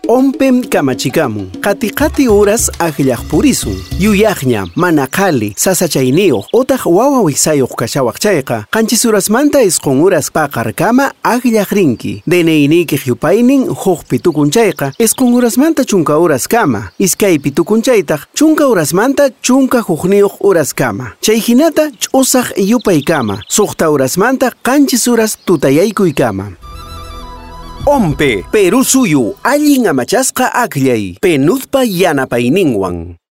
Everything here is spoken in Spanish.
Ompem kamachikamun, qati horas aqllaq purisun. Yuyaqña, mana qali, sasachayniyuq, otaq wawa wiksayuq kashawaq chayqa, qanchis horasmanta isqun horas paqarkama aqllaq rinki. DNInikiq yupaynin huqpi tukun chayqa, isqun horasmanta chunka horas kama. Iskaypi tukun chaytaq, chunka horasmanta chunka huqniyuq horas kama. Chay hinata ch'usaq yupay kama, suqta horasmanta qanchis horas tutayaykuy kama. Ompe, Perú suyu, allin amachasqa aqllay, penuzpa yanapayninwan.